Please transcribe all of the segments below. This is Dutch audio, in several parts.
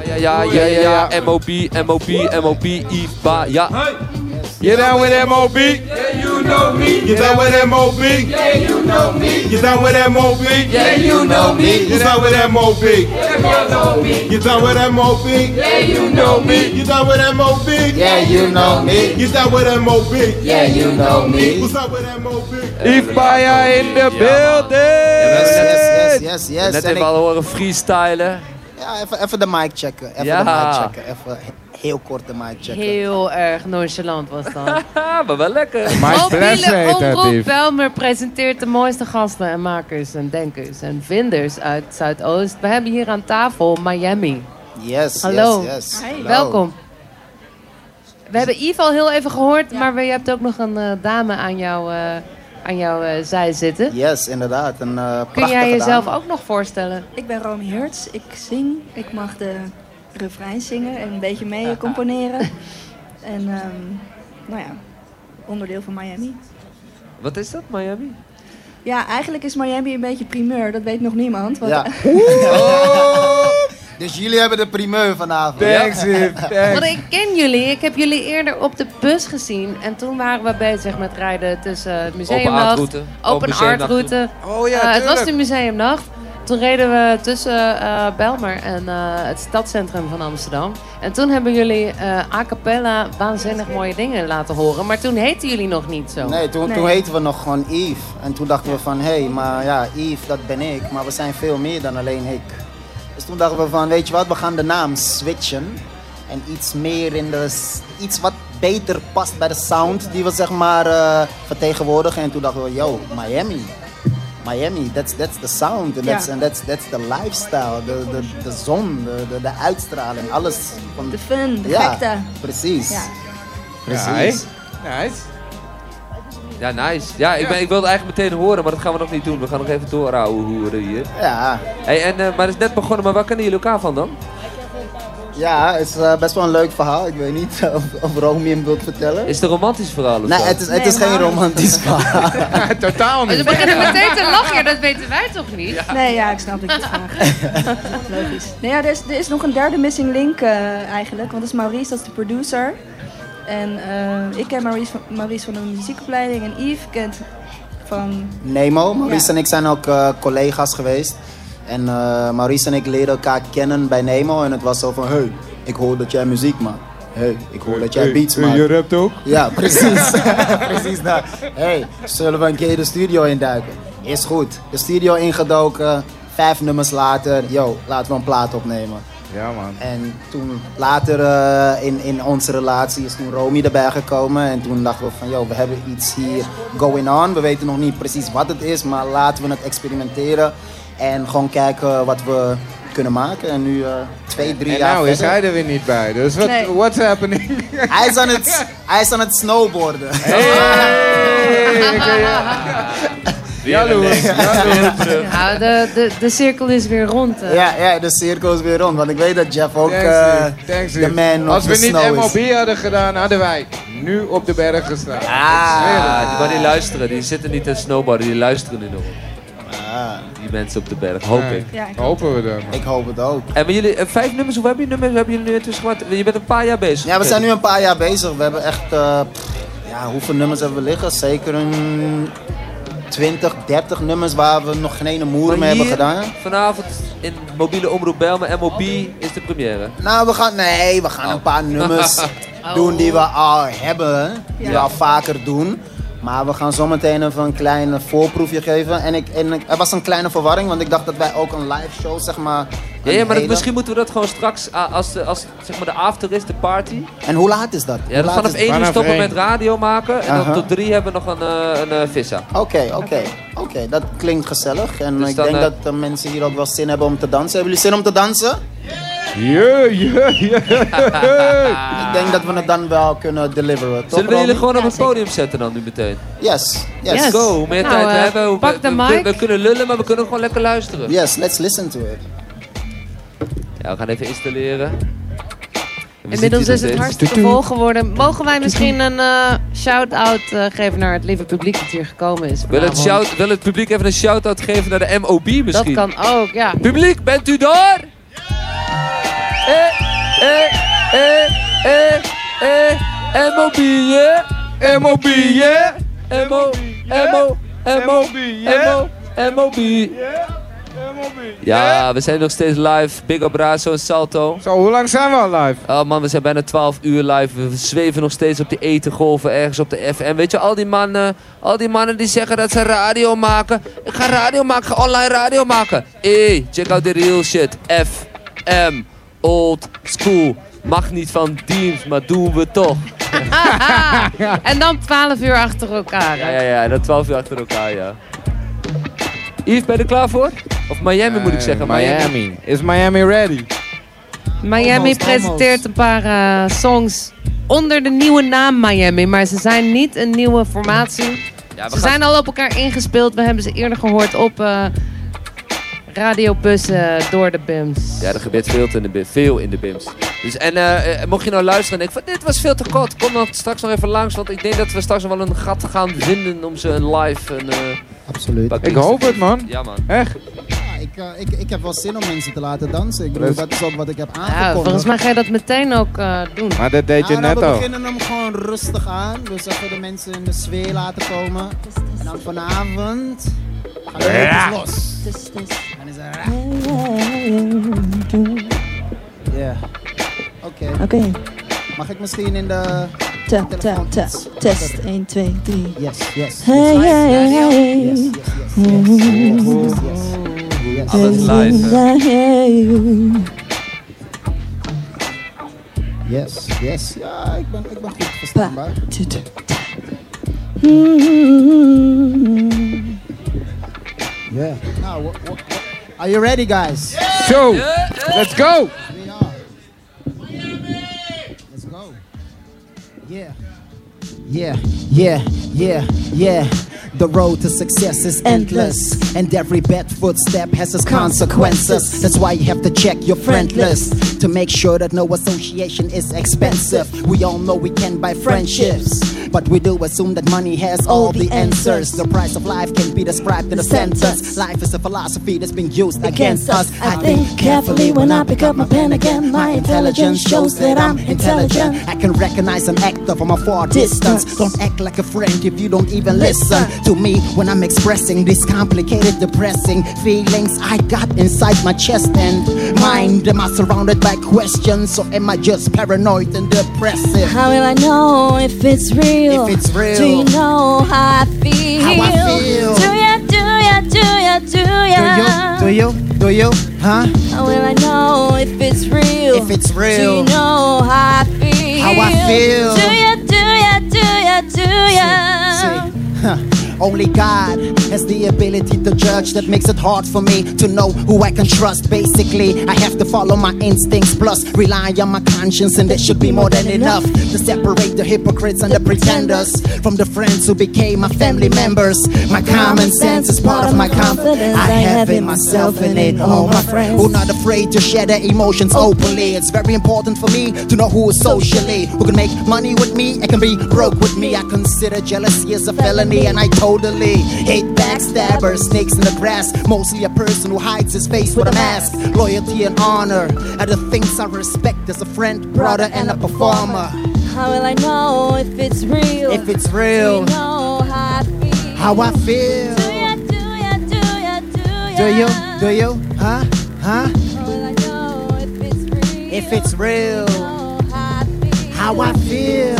Ja. MOB, IFBA, ja. You down with MOB? Yeah, you know me. You down with MOB? Yeah, you know me. You down with MOB? Yeah, you know me. You down with MOB? Yeah, you know me. You down with MOB? Yeah, you know me. You down with MOB? Yeah, you know me. You down with MOB? Yeah, you know me. What's up with MOB? Ifbaya in the building! Yes. Net even al horen freestylen. Ja, even de mic checken. Even heel kort de mic checken. Heel erg nonchalant was dat. Maar wel lekker. Mobiele Omroep Bijlmer presenteert de mooiste gasten en makers en denkers en vinders uit Zuidoost. We hebben hier aan tafel Miami. Yes. Hallo. Hallo. Welkom. We hebben Yves al heel even gehoord, maar je hebt ook nog een dame aan jouw zij zitten. Yes, inderdaad. Kun jij jezelf ook nog voorstellen? Ik ben Romy Hertz, ik zing. Ik mag de refrein zingen en een beetje mee componeren. En onderdeel van Miami. Wat is dat, Miami? Ja, eigenlijk is Miami een beetje primeur, dat weet nog niemand. Ja. Dus jullie hebben de primeur vanavond. Thanks. Want ik ken jullie. Ik heb jullie eerder op de bus gezien. En toen waren we bezig met rijden tussen het museumnacht. Open art route. Oh ja, het was de museumnacht. Toen reden we tussen Bijlmer en het stadscentrum van Amsterdam. En toen hebben jullie a cappella waanzinnig mooie dingen laten horen. Maar toen heten jullie nog niet zo. Nee, toen heten we nog gewoon Yves. En toen dachten we van, maar ja, Yves, dat ben ik. Maar we zijn veel meer dan alleen ik. Dus toen dachten we van, weet je wat, we gaan de naam switchen. En iets meer iets wat beter past bij de sound die we zeg maar vertegenwoordigen. En toen dachten we, Miami, that's the sound. And that's the lifestyle. De zon, de uitstraling, alles. De fun, de gekte. Precies. Ja. Precies. Nice. Ja, nice. Ja, ik wilde eigenlijk meteen horen, maar dat gaan we nog niet doen. We gaan nog even doorhouden hoeren hier. Ja. Hey, maar het is net begonnen, maar waar kennen jullie elkaar van dan? Ja, het is best wel een leuk verhaal. Ik weet niet of Romy hem wilt vertellen. Is het een romantisch verhaal? Nee, het is geen romantisch verhaal. Totaal niet. Ze beginnen meteen te lachen, dat weten wij toch niet? Ja. Nee, ja, ik snap dat je het vraagt. Logisch. Nee, ja, er is nog een derde missing link eigenlijk. Want dat is Maurice, dat is de producer. En ik ken Maurice van de muziekopleiding. En Yves kent van... Nemo. Maurice en ik zijn ook collega's geweest. En Maurice en ik leerden elkaar kennen bij Nemo. En het was zo van, hey, ik hoor dat jij muziek maakt. Hey, ik hoor dat jij beats maakt. Je rapt ook? Ja, precies. Precies dat. Hey, zullen we een keer de studio induiken? Is goed. De studio ingedoken. 5 nummers later, laten we een plaat opnemen. Ja, man. En toen later in onze relatie is toen Romy erbij gekomen. En toen dachten we van, we hebben iets hier going on. We weten nog niet precies wat het is, maar laten we het experimenteren. En gewoon kijken wat we kunnen maken. En nu 2-3 jaar nou is verder. hij er weer niet bij. Dus what's happening? Hij is aan het snowboarden. Jaloers. Nou, de cirkel is weer rond. Ja, de cirkel is weer rond. Want ik weet dat Jeff ook Thanks, de man als op de snow is. Als we niet MOB hadden gedaan, hadden wij nu op de berg gestaan. Maar die luisteren. Die zitten niet te snowboarden, die luisteren nu nog. Die mensen op de berg, hoop ik. Ja, hopen we dan. Ik hoop het ook. En maar jullie, 5 nummers, hoe hebben jullie nu intussen gemaakt? Je bent een paar jaar bezig. Ja, we zijn nu een paar jaar bezig. We hebben echt, hoeveel nummers hebben we liggen? Zeker een 20, 30 nummers waar we nog geen ene moer mee hebben gedaan. Vanavond in mobiele omroep Bijlmer, MOB, is de première. Nou, we gaan een paar nummers doen die we al hebben. Die we al vaker doen. Maar we gaan zometeen even een klein voorproefje geven. En er was een kleine verwarring, want ik dacht dat wij ook een live show, zeg maar... Ja, maar misschien moeten we dat gewoon straks, als zeg maar de after is, de party. En hoe laat is dat? Ja, we gaan om 1 uur stoppen met radio maken. En dan tot 3 hebben we nog een vissa. Oké, dat klinkt gezellig. En dus ik denk dat de mensen hier ook wel zin hebben om te dansen. Hebben jullie zin om te dansen? Ja. Ik denk dat we het dan wel kunnen deliveren. Zullen we jullie gewoon op het podium zetten dan nu meteen? Yes. Let's go. Hoe meer tijd we hebben, pak de mic. We kunnen lullen, maar we kunnen gewoon lekker luisteren. Yes, let's listen to it. Ja, we gaan even installeren. Inmiddels is het hartstikke vol geworden. Mogen wij misschien een shout-out geven naar het lieve publiek dat hier gekomen is? Wil het publiek even een shout-out geven naar de MOB misschien? Dat kan ook, ja. Publiek, bent u daar? MOB, yeah. MOB, yeah. MOB. Ja, we zijn nog steeds live. Big up Razo en Salto. Zo, hoe lang zijn we al live? Oh man, we zijn bijna 12 uur live. We zweven nog steeds op die etengolven ergens op de FM. Weet je, al die mannen die zeggen dat ze radio maken. Ik ga radio maken, ga online radio maken. Check out the real shit. FM, old school. Mag niet van Deems, maar doen we toch. En dan 12 uur achter elkaar. Hè? Ja, en dan 12 uur achter elkaar, ja. Yves, ben je er klaar voor? Of Miami moet ik zeggen. Miami. Is Miami ready? Miami presenteert een paar songs onder de nieuwe naam Miami. Maar ze zijn niet een nieuwe formatie. Ja, ze zijn al op elkaar ingespeeld. We hebben ze eerder gehoord op radiobussen door de BIMS. Ja, er gebeurt veel in de BIMS. Dus, mocht je nou luisteren en denken van dit was veel te kort. Kom dan straks nog even langs. Want ik denk dat we straks nog wel een gat gaan vinden om ze een live... Absoluut. Ik hoop het, man. Ja, man. Echt? Ja, ik heb wel zin om mensen te laten dansen. Ik bedoel, dat is ook wat ik heb aangekondigd. Ja, volgens mij ga je dat meteen ook doen. Maar dat deed je net We al. beginnen hem gewoon rustig aan. Dus even de mensen in de sfeer laten komen. En dan vanavond gaan we los. En is er... Ja. Oké. Mag ik misschien in de... Test 1, 2, 3. Yes. Hey. Yes. Alles live. Yes. Ja, ik ben goed verstaanbaar. Yeah. Now, are you ready, guys? So, let's go. We are. Let's go. Yeah. The road to success is endless, and every bad footstep has its consequences. That's why you have to check your friend list to make sure that no association is expensive. We all know we can buy friendships, but we do assume that money has all the answers. The price of life can be described in a sentence. Life is a philosophy that's been used against us. I think carefully when I pick up my pen again. My intelligence shows that I'm intelligent. I can recognize an actor from a far distance. Don't act like a friend if you don't even listen to me when I'm expressing these complicated, depressing feelings I got inside my chest and mind. Am I surrounded by questions, or am I just paranoid and depressive? How will I know if it's real? If it's real. Do you know how I feel? How I feel. Do ya? Do you? Huh? How will I know if it's real? If it's real. Do you know how I feel? How I feel. Do ya? Only God has the ability to judge. That makes it hard for me to know who I can trust. Basically, I have to follow my instincts, plus rely on my conscience, and that should be more than enough to separate the hypocrites and the pretenders from the friends who became my family members. My common sense is part of my confidence. I have it myself and in all my friends who are not afraid to share their emotions openly. It's very important for me to know who is socially, who can make money with me and can be broke with me. I consider jealousy as a felony, and I totally hate backstabbers, snakes in the grass. Mostly a person who hides his face with a mask. Loyalty and honor are the things I respect as a friend, brother, and a performer. How will I know if it's real? If it's real. Do you know how I feel? How I feel. Do you? Huh? How will I know if it's real? If it's real. How I feel.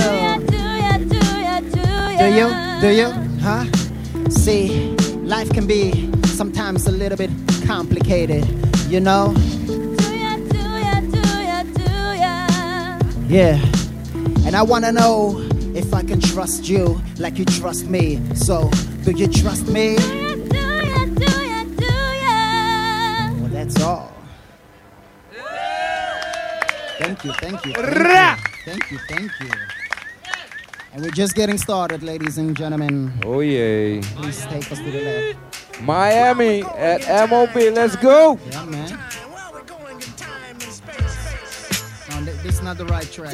Do you? Huh? See, life can be sometimes a little bit complicated, you know? Yeah. And I wanna know if I can trust you like you trust me. So, do you trust me? Well, that's all. Thank you. Thank you. And we're just getting started, ladies and gentlemen. Oh yeah. Please take us to the left. Miami at MOB, let's go. Yeah, man. No, this is not the right track.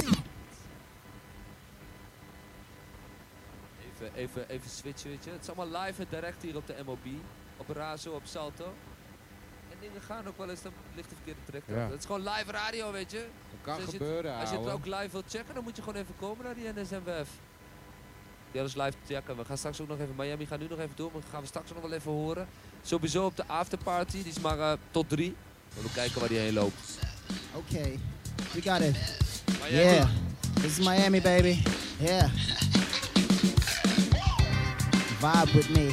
Even switchen, weet je. Het is allemaal live en direct hier op de MOB. Op Razo, op Salto. En dingen gaan ook wel eens, dan ligt de verkeerde track. Ja. Dat is gewoon live radio, weet je. Dat kan Dus gebeuren, als je het ouwe. ook live wilt checken, dan moet je gewoon even komen naar die NSMWF. Ja, dat is live checken. We gaan straks ook nog even, Miami gaat nu nog even door, maar gaan we straks nog wel even horen. Sowieso op de afterparty, die is maar tot 3. We kijken waar die heen loopt. Okay, we got it. Miami. Yeah, this is Miami, baby. Yeah. Vibe with me.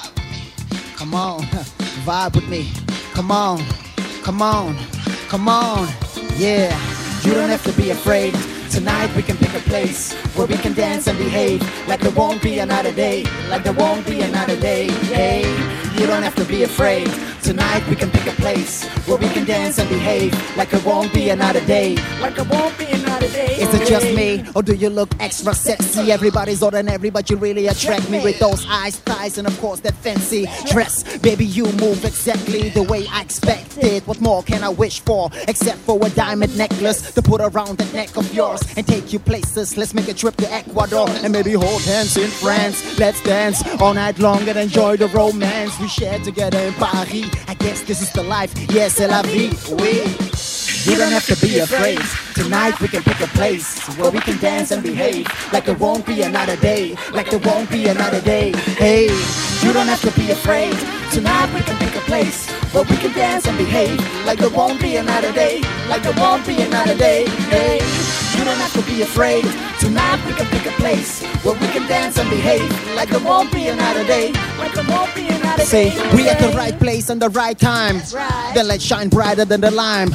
Come on, vibe with me. Come on, come on, come on. Yeah, you don't have to be afraid. Tonight we can pick a place where we can dance and behave like there won't be another day, like there won't be another day. Hey, you don't have to be afraid. Tonight we can pick a place where we can dance and behave like it won't be another day, like it won't be another day. Is it just me, or do you look extra sexy? Everybody's ordinary, but you really attract me with those eyes, thighs, and of course that fancy dress. Baby, you move exactly the way I expected. What more can I wish for, except for a diamond necklace to put around the neck of yours and take you places. Let's make a trip to Ecuador and maybe hold hands in France. Let's dance all night long and enjoy the romance we share together in Paris. I guess this is the life, yes, c'est la vie, oui. You don't have to be afraid. Tonight we can pick a place where we can dance and behave like there won't be another day, like there won't be another day. Hey, you don't have to be afraid. Tonight we can pick a place where we can dance and behave like there won't be another day, like there won't be another day. Hey, you don't have to be afraid. Tonight we can pick a place where we can dance and behave like there won't be another day, like there won't be another day. Say, we at the right place and the right time. Then let's shine brighter than the lime.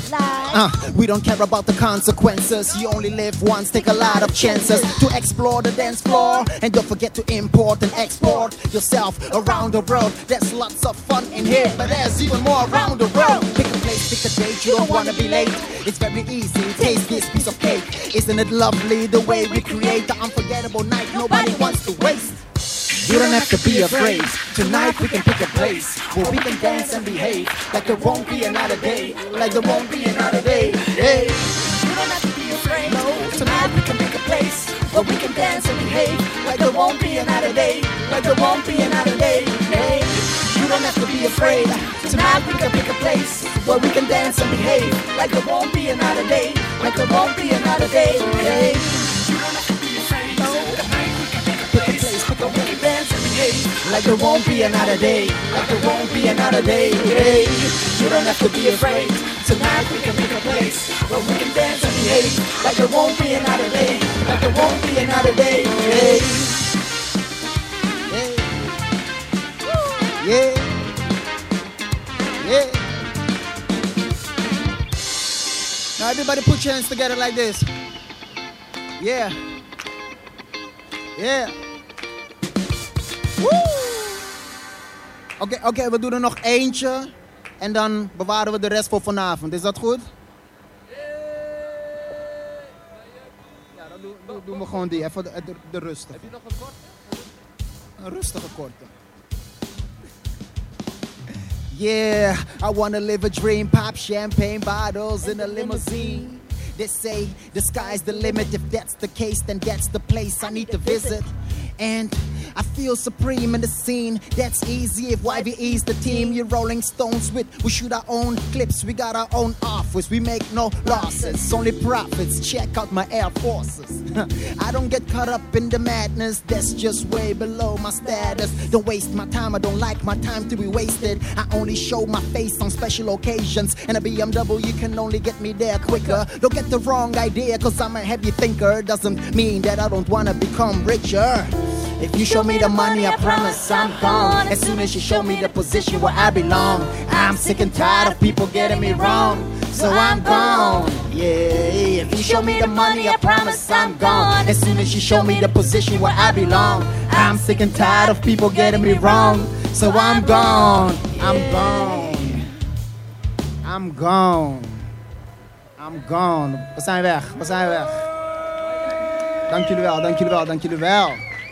We don't care about the consequences. You only live once, take a lot of chances to explore the dance floor. And don't forget to import and export yourself around the world. There's lots of fun in here, but there's even more around the world. Pick a place, pick a date, you don't wanna be late. It's very easy, taste this piece of cake. Isn't it lovely the way we create the unforgettable night nobody wants to waste? You don't have to be afraid. Tonight we can pick a place where we can dance and behave like there won't be another day, like there won't be another day. Hey, you don't have to be afraid. No, tonight we can pick a place where we can dance and behave like there won't be another day, like there won't be another day. Hey, you don't have to be afraid. Tonight we can pick a place where we can dance and behave like there won't be another day, like there won't be another day. Hey, you don't have to be afraid. No, tonight we can pick a place where we can dance and behave like there won't be another day, like there won't be another day. Hey, you don't have to be afraid. Tonight we can pick a place where we can dance and behave like there won't be another day, like there won't be another day. Hey, hey, yeah, yeah. Now everybody put your hands together like this. Yeah, yeah. Oké, we doen er nog eentje. En dan bewaren we de rest voor vanavond. Is dat goed? Ja, dan doen we gewoon die. Even de rustige. Heb je nog een kort? Een rustige korte. Yeah, I wanna live a dream. Pop champagne bottles in a limousine. They say the sky's the limit. If that's the case, then that's the place I need to visit. And I feel supreme in the scene. That's easy if YVE's the team. You Rolling Stones with, we shoot our own clips. We got our own office. We make no losses, only profits. Check out my Air Forces. I don't get caught up in the madness. That's just way below my status. Don't waste my time. I don't like my time to be wasted. I only show my face on special occasions. And a BMW can only get me there quicker. Don't get the wrong idea, cause I'm a heavy thinker. Doesn't mean that I don't wanna become richer. If you show me the money, I promise I'm gone. As soon as you show me the position where I belong, I'm sick and tired of people getting me wrong, so I'm gone. Yeah, if you show me the money, I promise I'm gone. As soon as you show me the position where I belong, I'm sick and tired of people getting me wrong, so I'm gone. I'm gone. I'm gone. I'm gone. We zijn weg, we zijn weg. Dank jullie wel, dank jullie wel, dank jullie wel.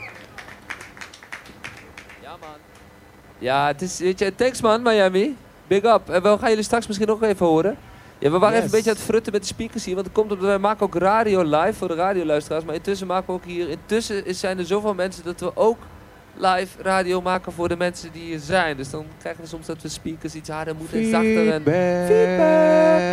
Ja, het is, weet je, thanks man, Miami. Big up. En we gaan jullie straks misschien nog even horen. Ja, we waren even een beetje aan het frutten met de speakers hier. Want het komt omdat wij maken ook radio live voor de radioluisteraars. Maar intussen maken we ook hier... Intussen zijn er zoveel mensen dat we ook live radio maken voor de mensen die hier zijn. Dus dan krijgen we soms dat we speakers iets harder moeten en zachter. En feedback.